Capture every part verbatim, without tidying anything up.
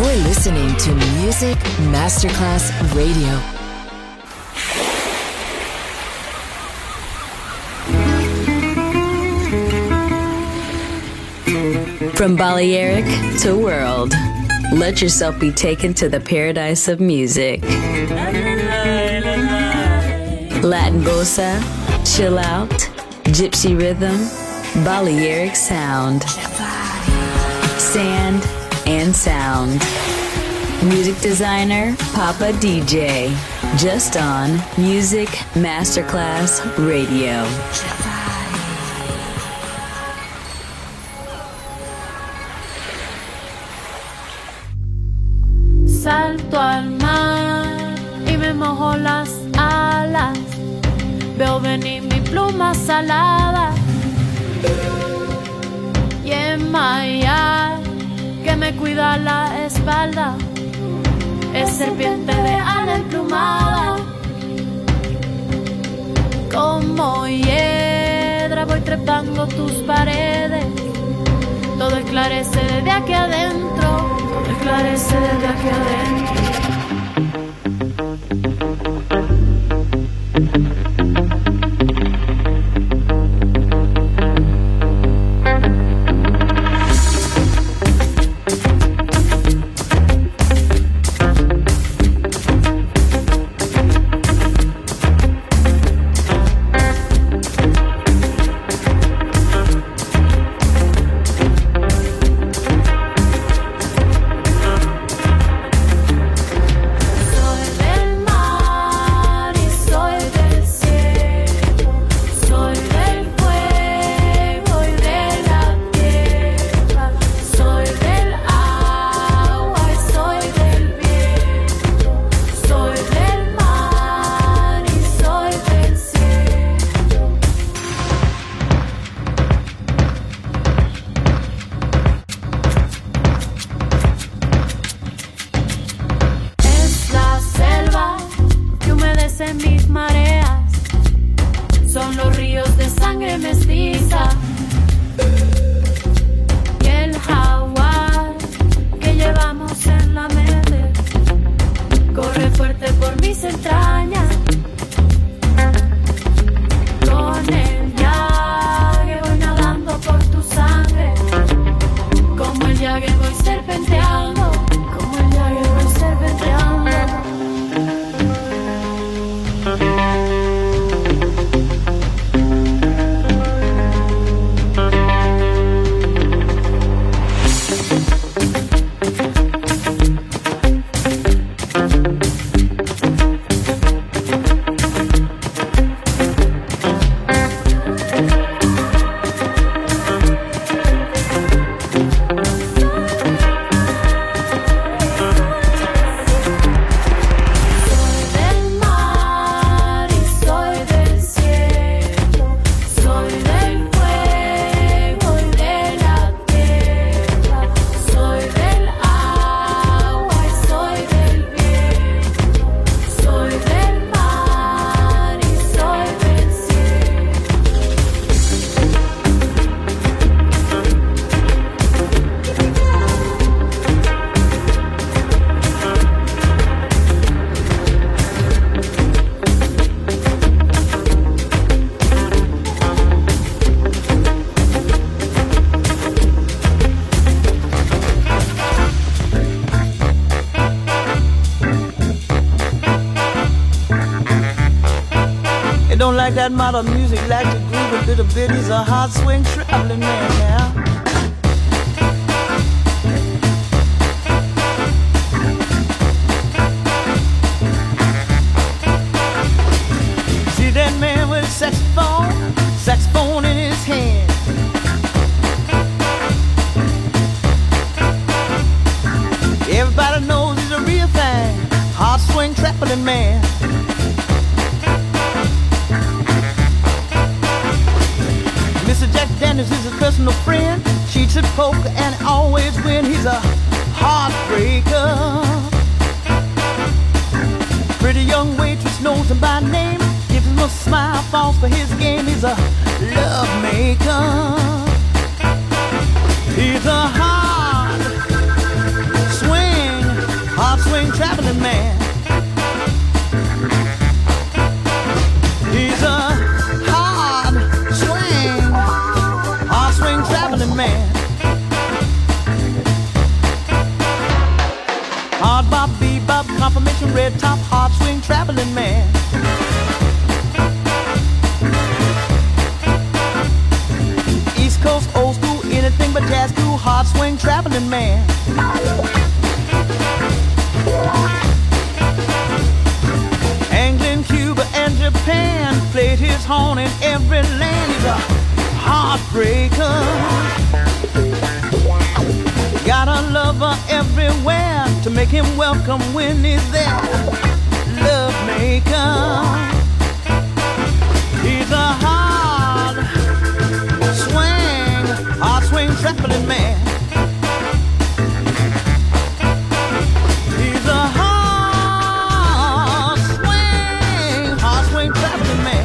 You're listening to Music Masterclass Radio. From Balearic to world, let yourself be taken to the paradise of music. Latin bossa, chill out, gypsy rhythm, Balearic sound, sand and sound. Music designer, Papa D J, just on Music Masterclass Radio. Salto al mar y me mojo las alas. Veo venir mi pluma salada y en Maya que me cuida la espalda es serpiente de ala emplumada. Como hiedra voy trepando tus paredes. Todo esclarece desde aquí adentro. Todo esclarece desde aquí adentro. Like that modern music, like to groove a little bit. He's a hard swing traveling man now. See that man with a saxophone, saxophone in his hand. Everybody knows he's a real thing, hard swing traveling man. Dennis is his personal friend. Cheats at poker and always win. He's a heartbreaker. Pretty young waitress knows him by name. Gives him a smile, falls for his game. He's a love maker. He's a hard swing job, confirmation, red top, hard swing, traveling man. East Coast, old school, anything but jazz, cool, hard swing, traveling man. England, Cuba, and Japan, played his horn in every land. He's a heartbreaker. Got a lover everywhere to make him welcome when he's there. Love maker. He's a hard swing, hard swing traveling man. He's a hard swing, hard swing traveling man.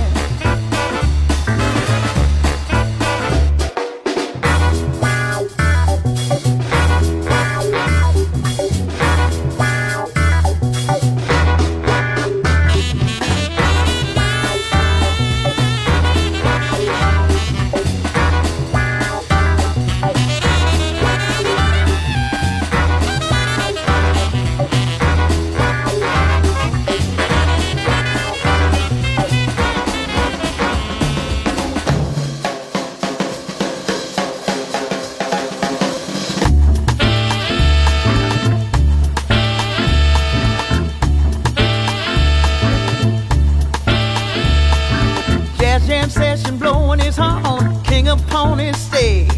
Upon his stage,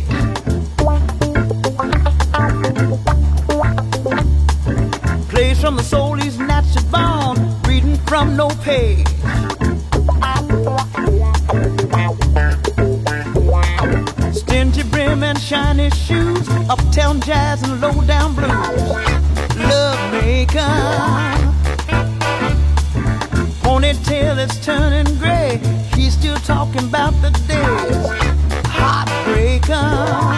plays from the soul he's naturally born, reading from no page. Stingy brim and shiny shoes, uptown jazz and low down blues. Love maker, ponytail is turning gray. He's still talking about the days. Heartbreaker.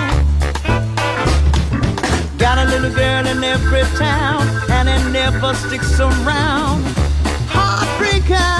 Got a little girl in every town, and it never sticks around. Heartbreaker.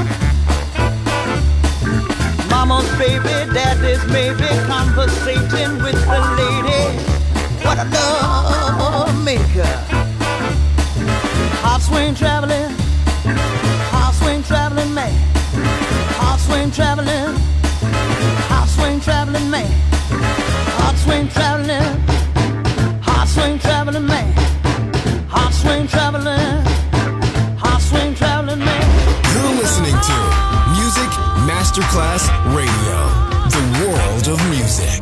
Mama's baby, daddy's maybe, conversating with the lady. What a love maker. Heart swing traveling, heart swing traveling man. Heart swing traveling, heart swing traveling man. Heart swing traveling, heart swing traveling man. Heart swing traveling, heart swing traveling man. You're listening to Music Masterclass Radio, the world of music.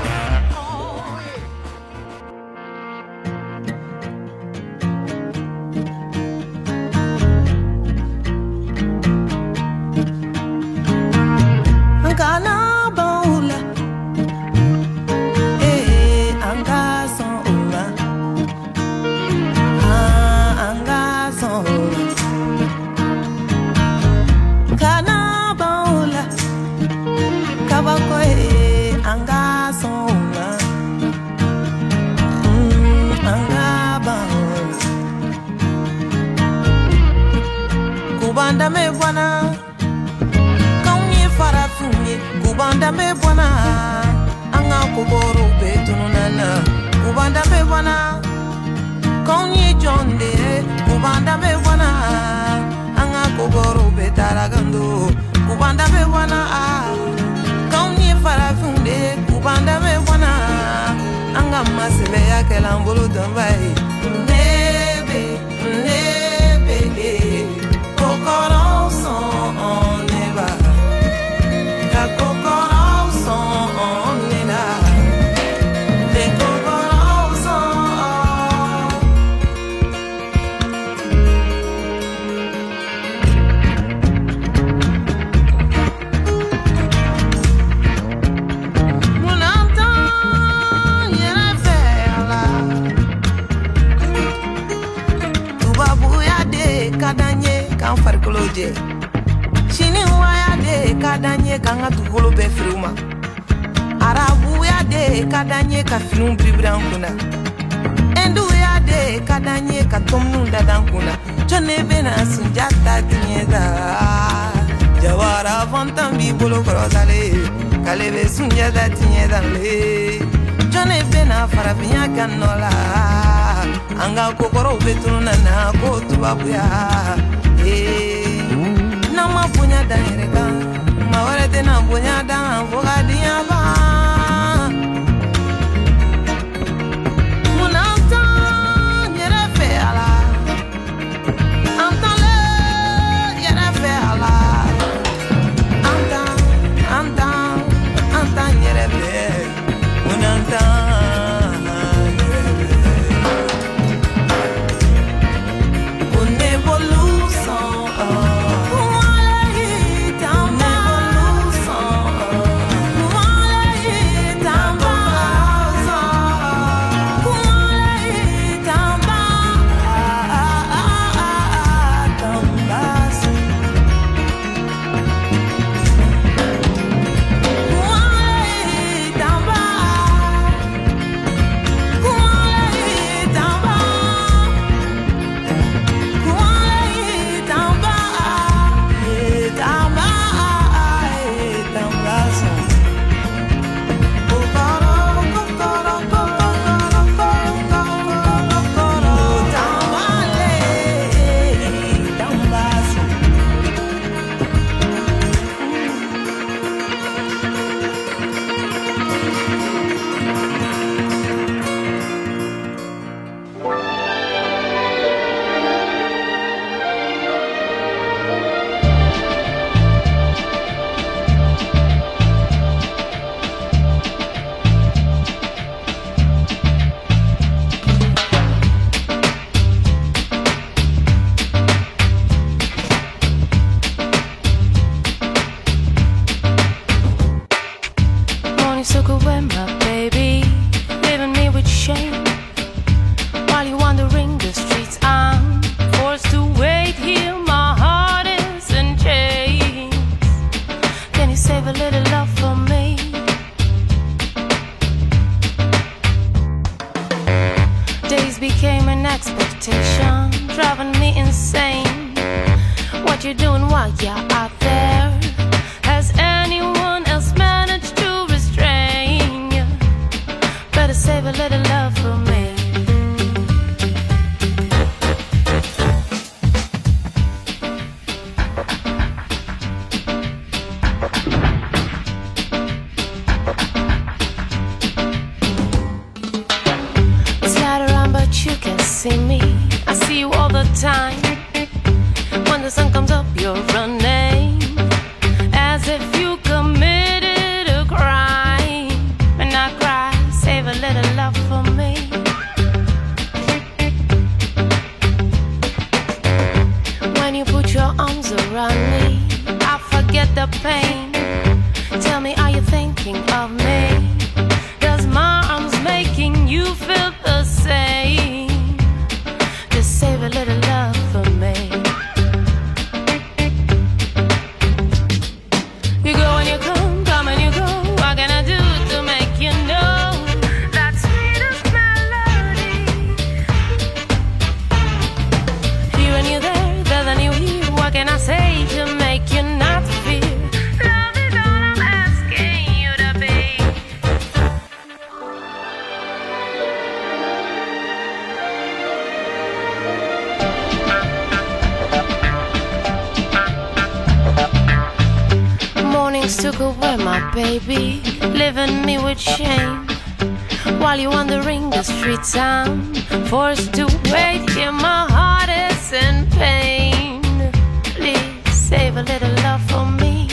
Kubanda me bwana, kaunye farafunye. Kubanda me bwana, anga kuboro betunu nana. Kubanda me bwana, kaunye jonde. Kubanda me bwana, anga kuboro betaragando. Kubanda me bwana, kaunye farafunye. Kubanda me bwana, anga masebe ya kelambulu dambai. Nebe, nebe, coração neva, da coração nena, de coração. Munanta, yena vela, tu babuya de kadanye. Kan farikolo je chini waya de kadanye kanga tukolo be fruma arabu ya de kadanye ka film bribran kuna endu ya de kadanye ka tomnu dadan kuna jone bena sunjata tinyeda jawara fontam bi bolo krosale kale be sunjata tinyeda le jone bena farabinya kanola anga kokoro betunu nana ko tubabuya eh na ma punya danireka ma wale tena punya dan foga dia ba munata nyere fe ala antale nyere fe ala anta anta anta nyere fe munata Took away my baby, leaving me with shame. While you're wandering the streets, I'm forced to wait here. My heart is in pain. Please save a little love for me.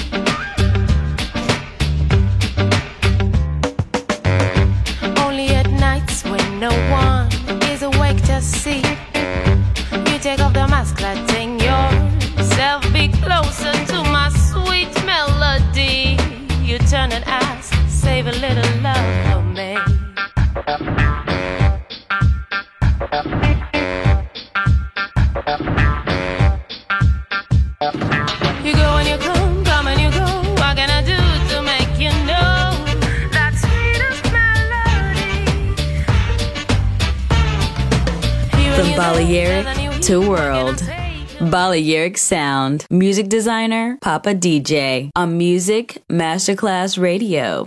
Only at nights when no one is awake to see, you take off the mask, letting yourself be closer to my sweet melody. You turn and ask, save a little love for me. You go and you come, come and you go. What can I do to make you know that sweetest melody? From Balearic to World. Balearic Sound. Music designer, Papa D J. On Music Masterclass Radio.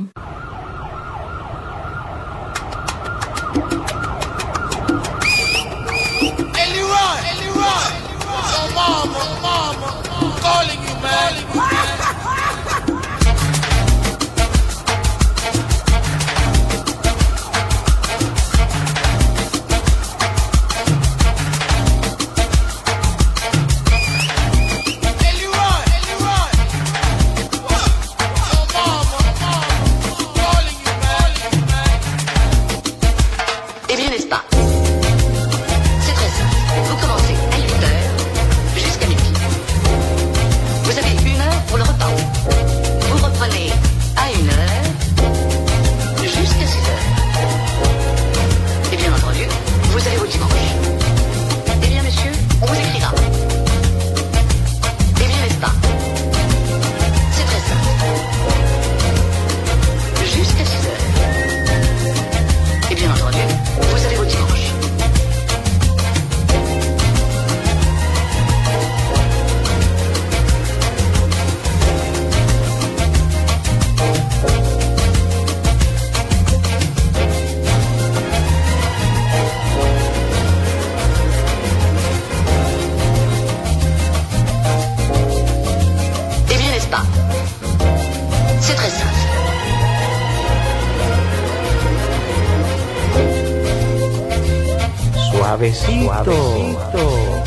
Suavecito. Suavecito.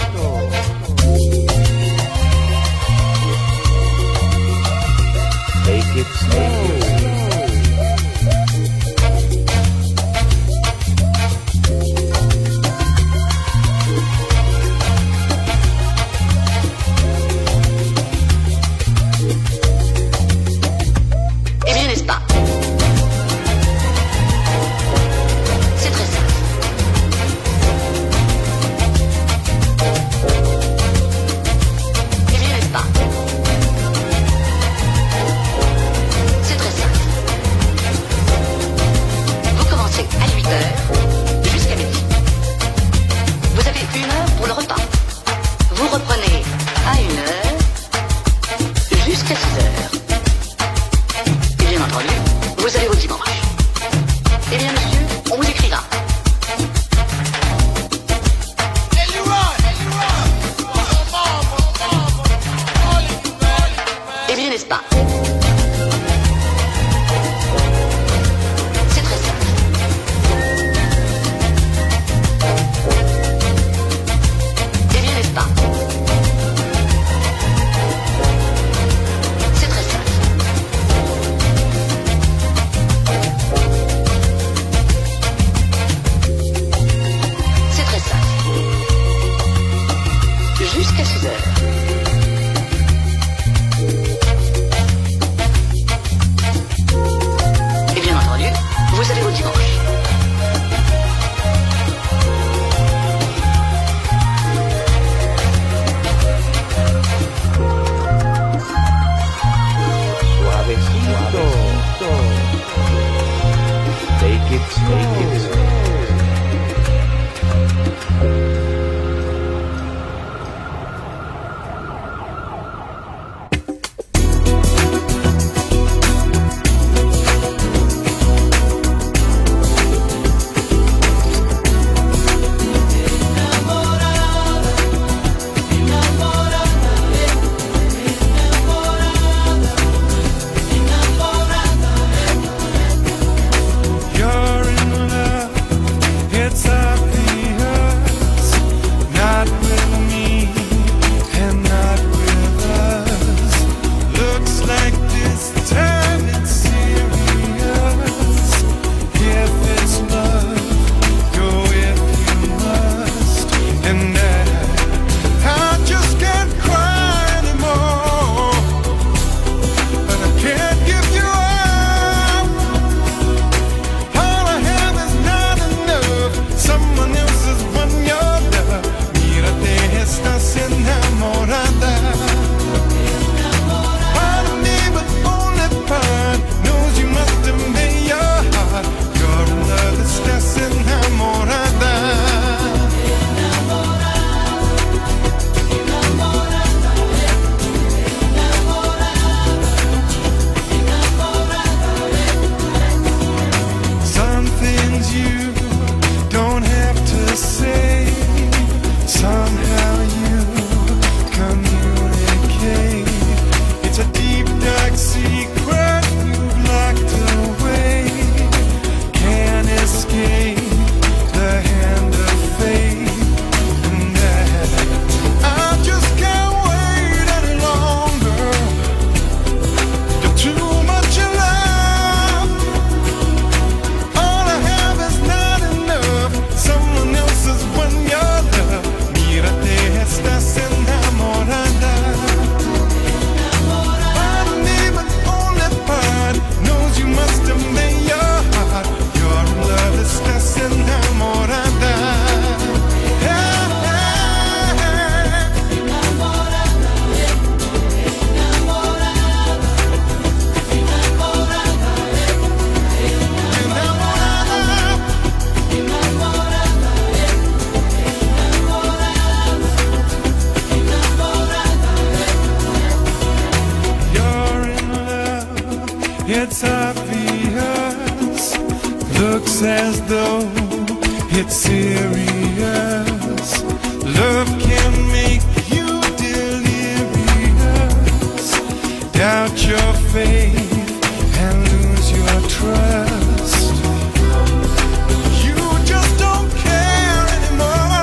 Take it slow. It's obvious, looks as though it's serious. Love can make you delirious. Doubt your faith and lose your trust. You just don't care anymore.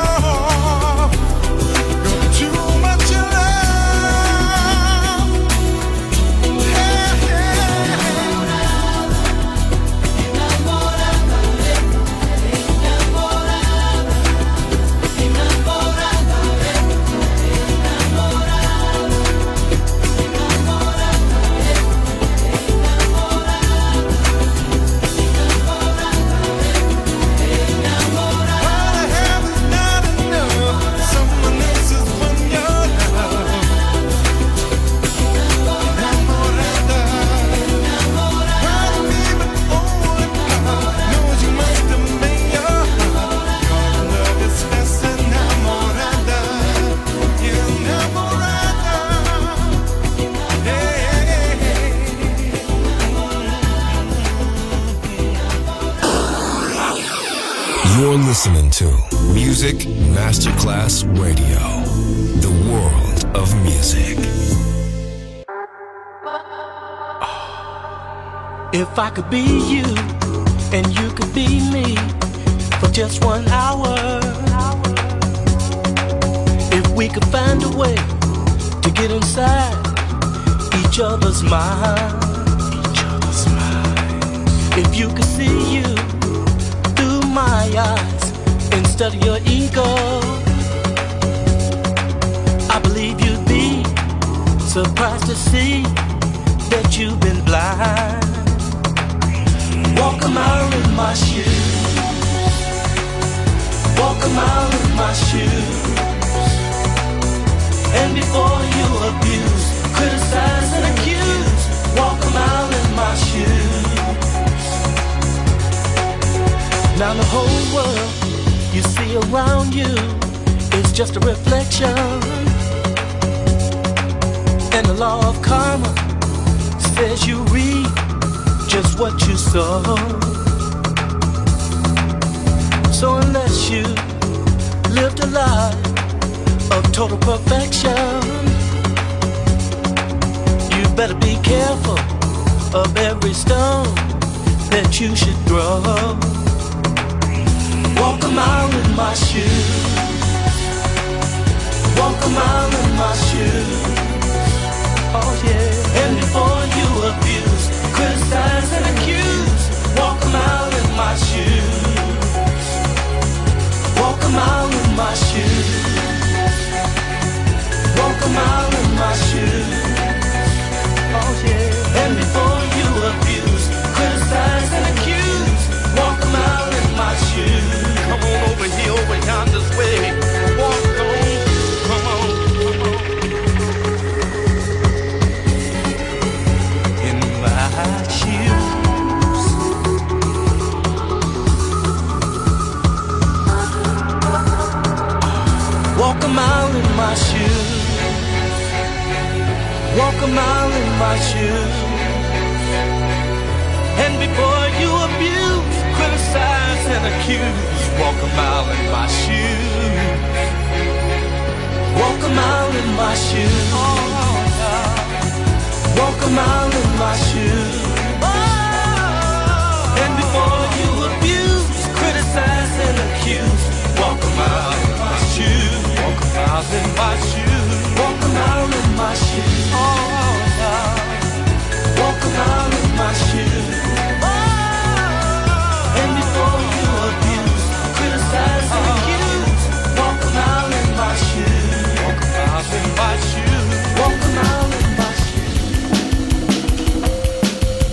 listening to Music Masterclass Radio, the world of music. If I could be you and you could be me for just one hour, if we could find a way to get inside each other's mind, each other's mind. If you could see you through my eyes instead of your ego, I believe you'd be surprised to see that you've been blind. Walk a mile in my shoes, walk a mile in my shoes, and before you abuse, criticize and accuse, walk a mile in my shoes. Now the whole world you see around you is just a reflection, and the law of karma says you reap just what you sow. So unless you lived a life of total perfection, you better be careful of every stone that you should throw. Walk a mile in my shoes, walk a mile in my shoes. Oh yeah. And before you abuse, criticize and accuse, walk a mile in my shoes, walk a mile in my shoes, walk a mile in my shoes. Oh yeah. And before you abuse, criticize and accuse, walk a mile in my shoes. Come on over here, over yonder's way. Walk on, come on, come on. In my shoes. Walk a mile in my shoes, walk a mile in my shoes, and before you abuse, criticize and accuse, walk a mile in my shoes, walk a mile in my shoes, walk a mile in my shoes, and before you abuse, criticize and accuse, walk a mile in my shoes, walk a mile in my shoes, walk a mile in my shoes, walk a mile in my shoes, and before you abuse, criticize and accuse, walk a mile in my shoes, walk a mile in my shoes, walk a mile in my shoes.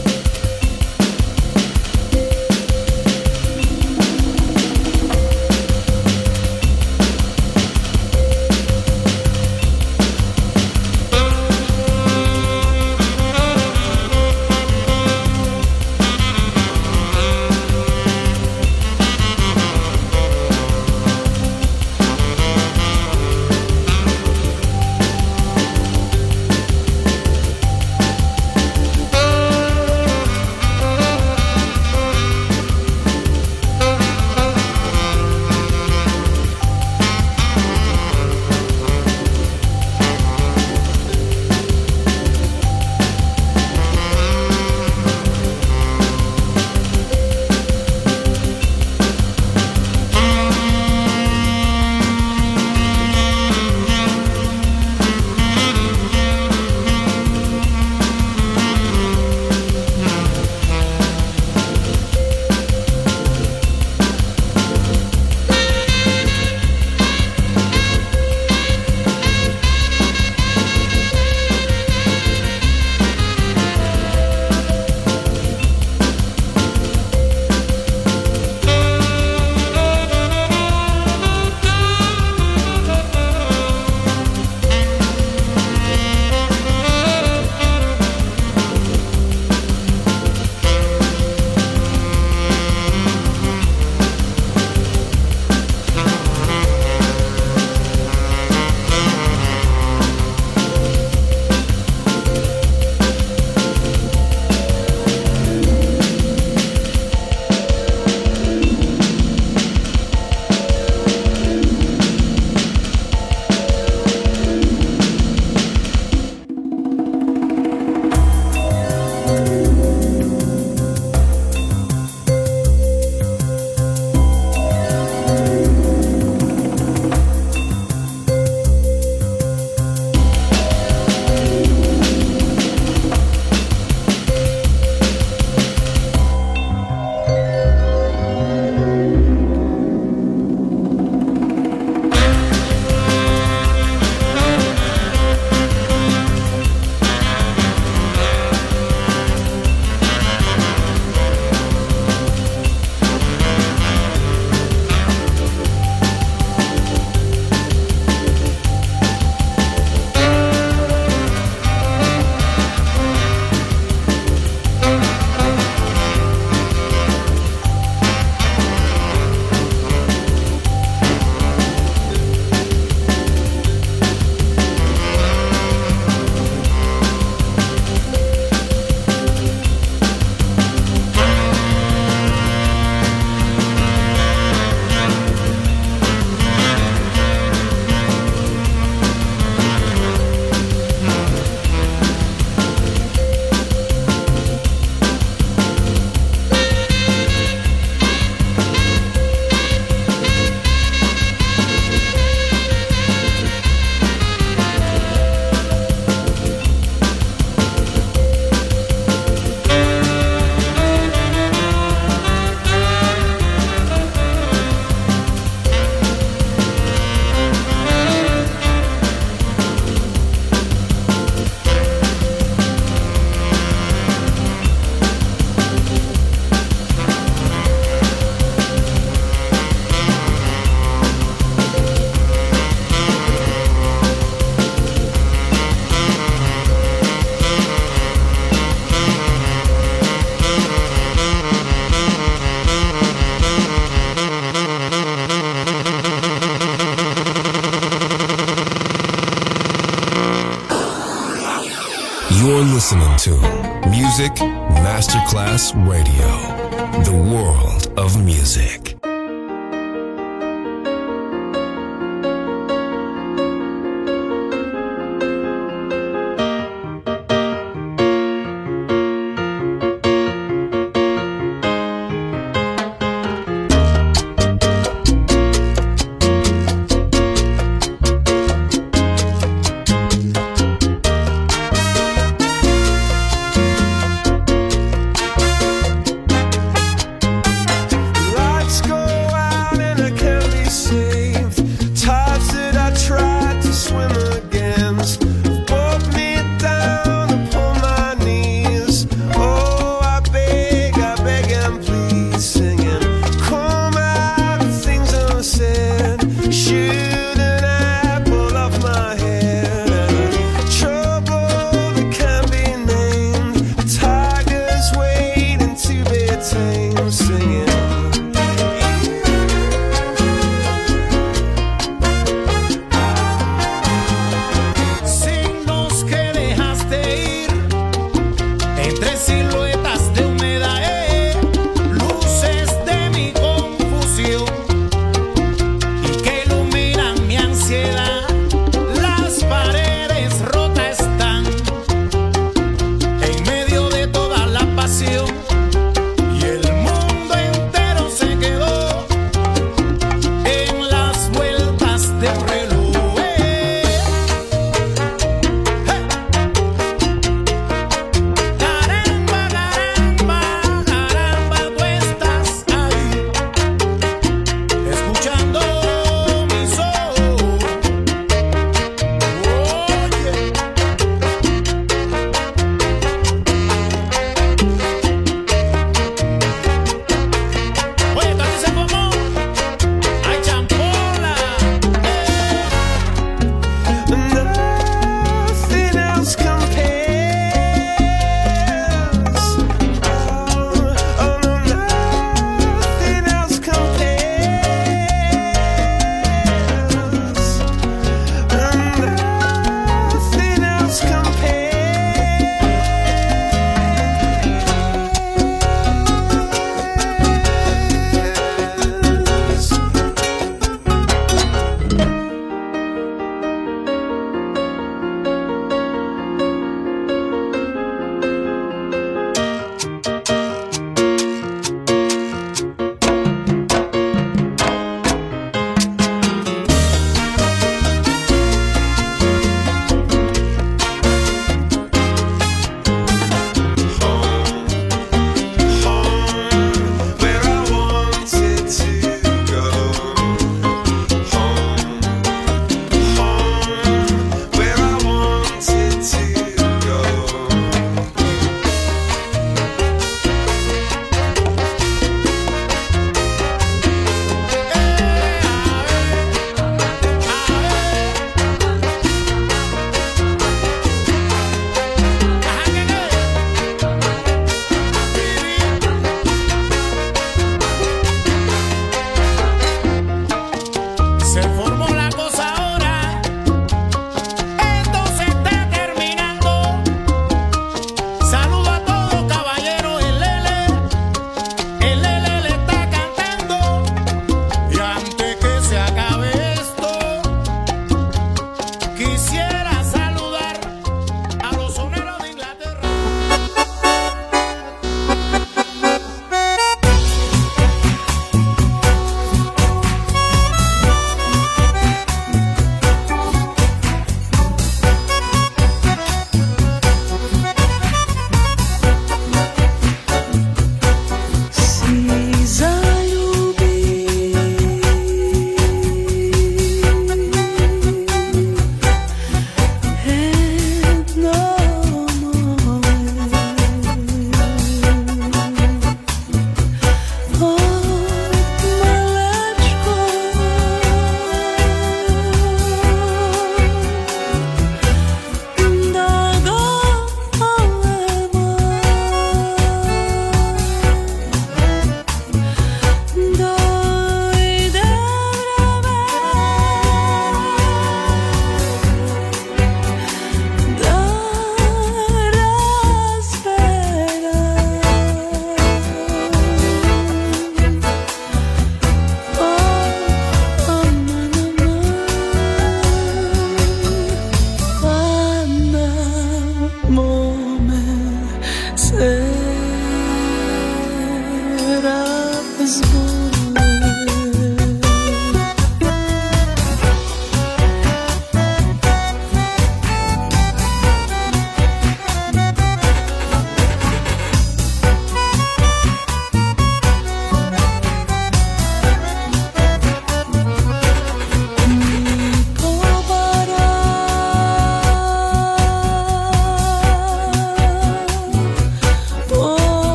listening to Music Masterclass Radio, the world of music.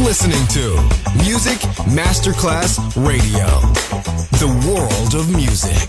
listening to Music Masterclass Radio, the world of music.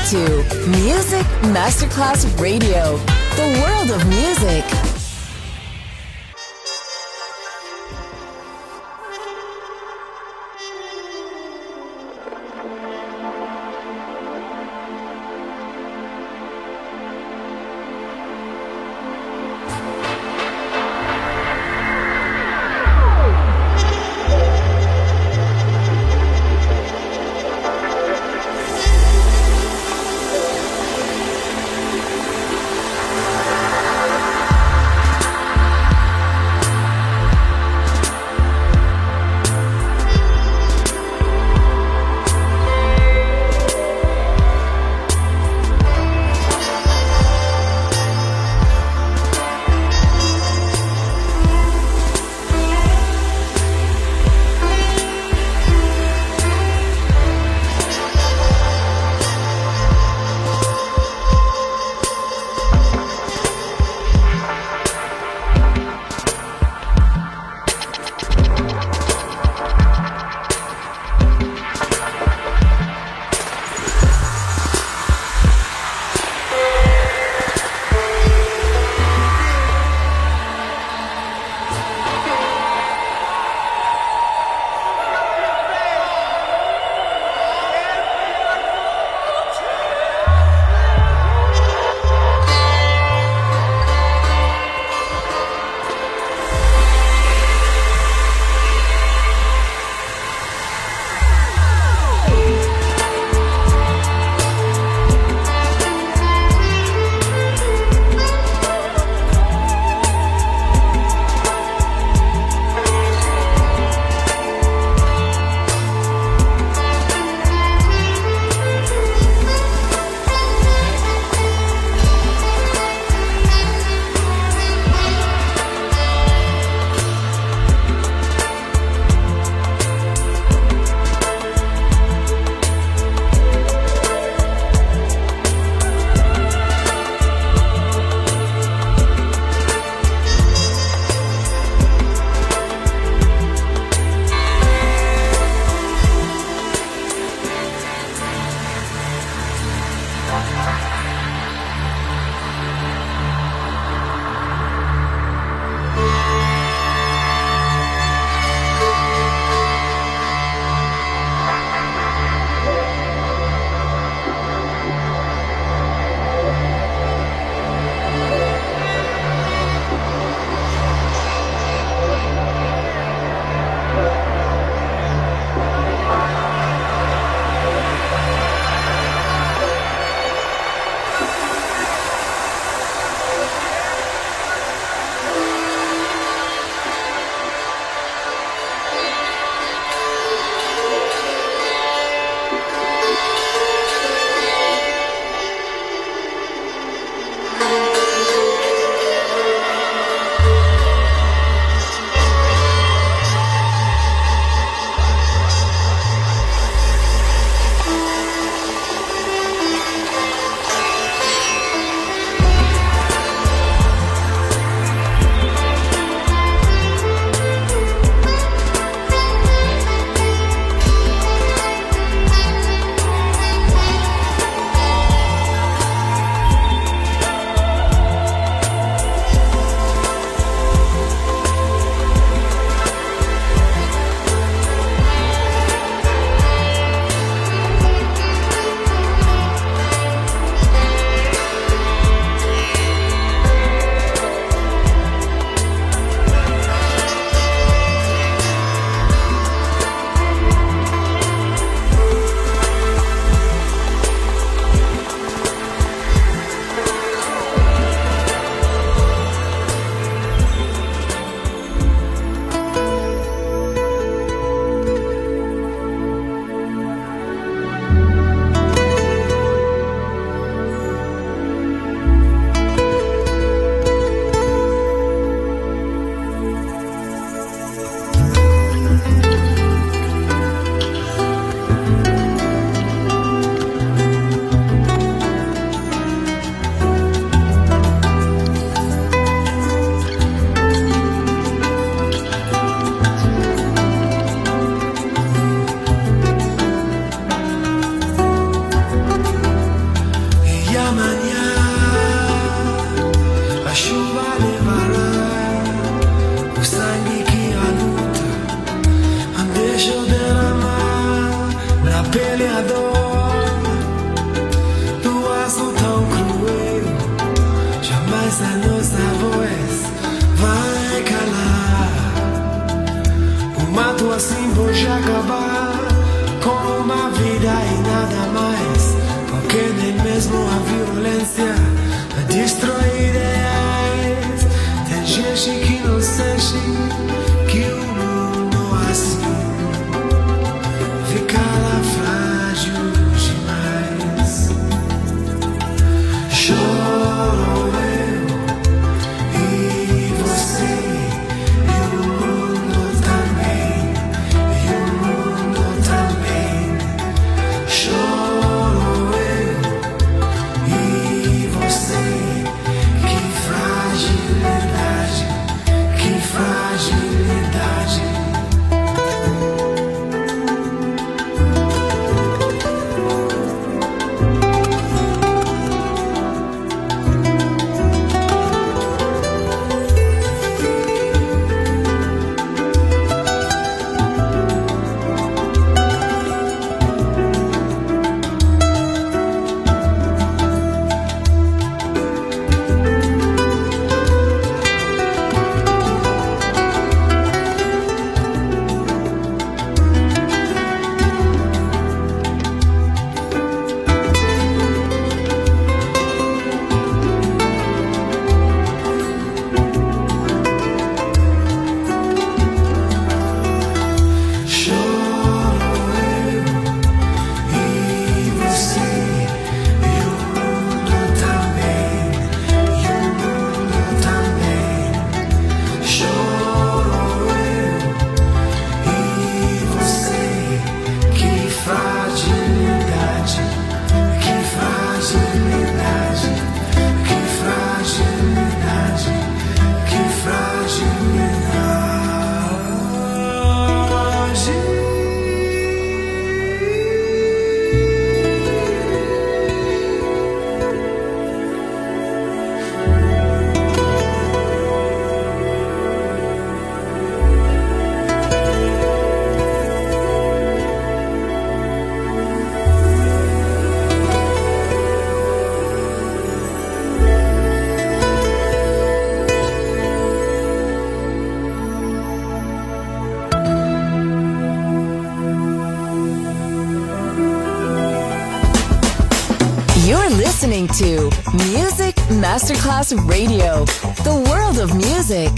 to Music Masterclass Radio, the world of music. tempo já acabar com uma vida e nada mais, porque nem mesmo a violência destrói ideais. Tem gente que não sente que o mundo assim fica lá frágil demais. Choro eu e você e o mundo também, e o mundo também. Choro eu e você. Que fragilidade, que fragilidade. You're listening to Music Masterclass Radio, the world of music.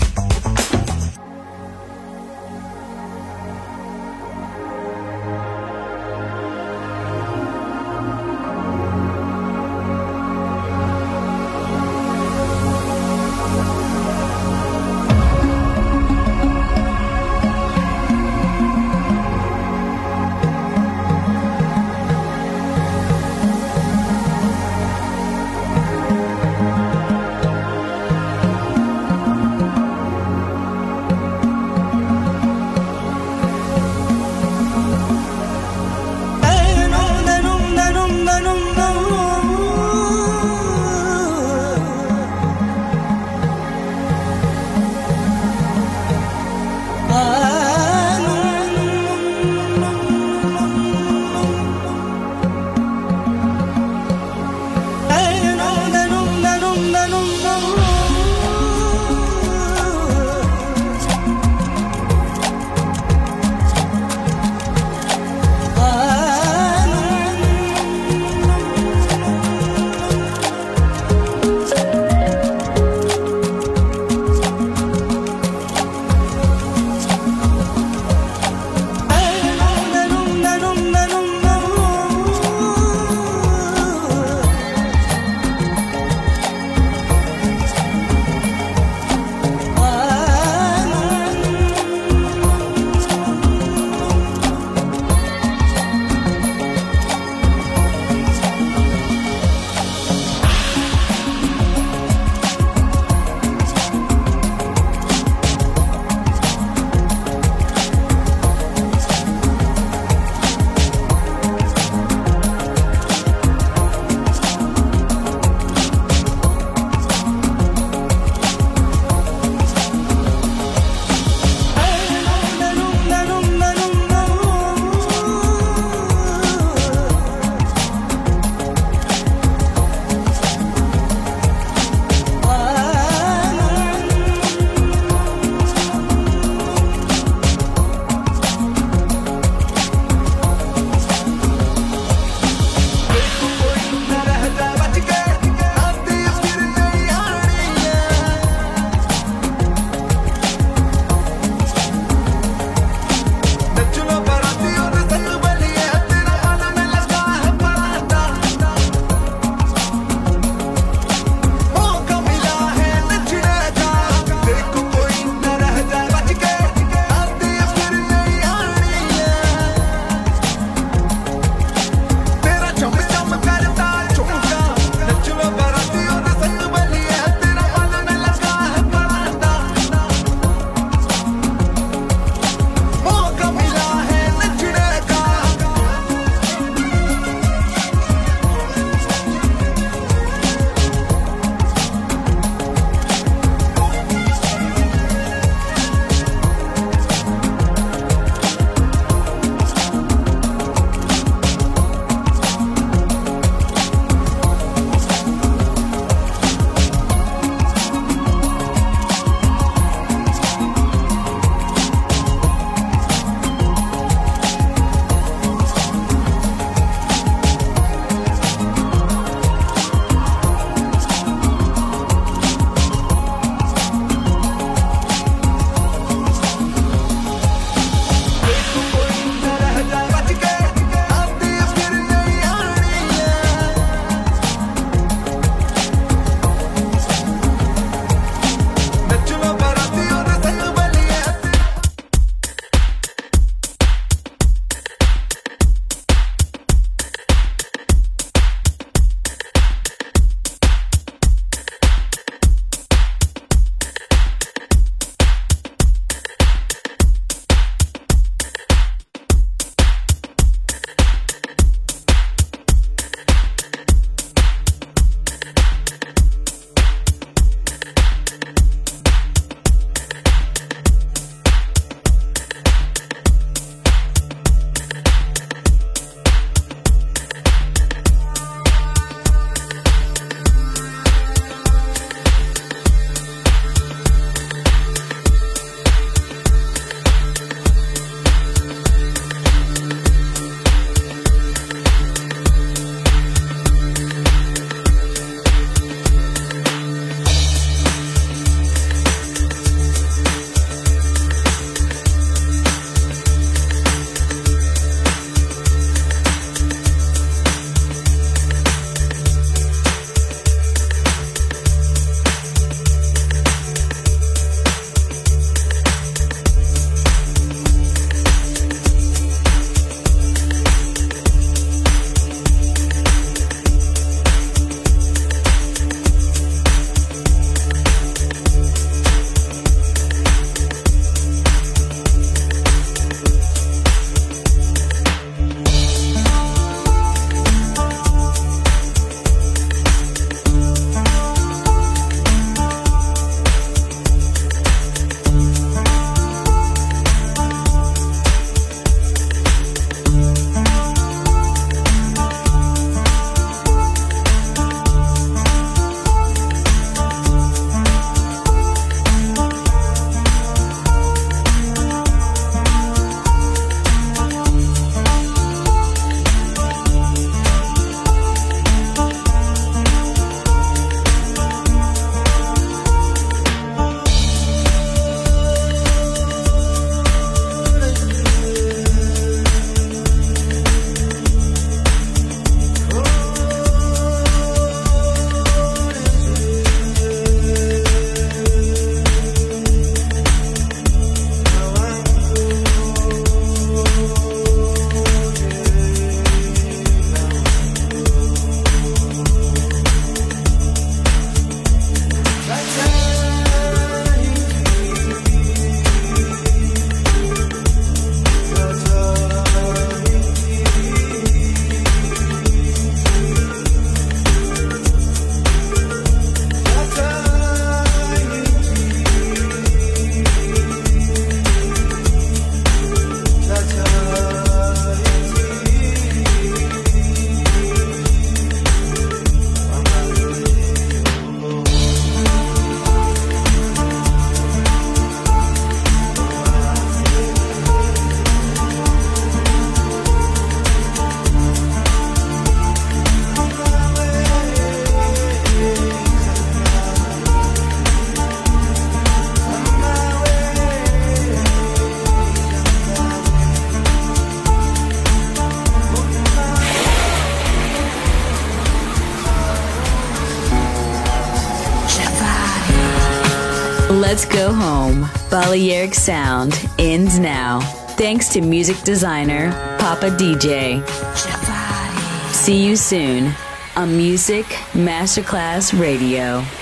Let's Go Home, Balearic Sound, ends now. Thanks to music designer, Papa D J. See you soon on Music Masterclass Radio.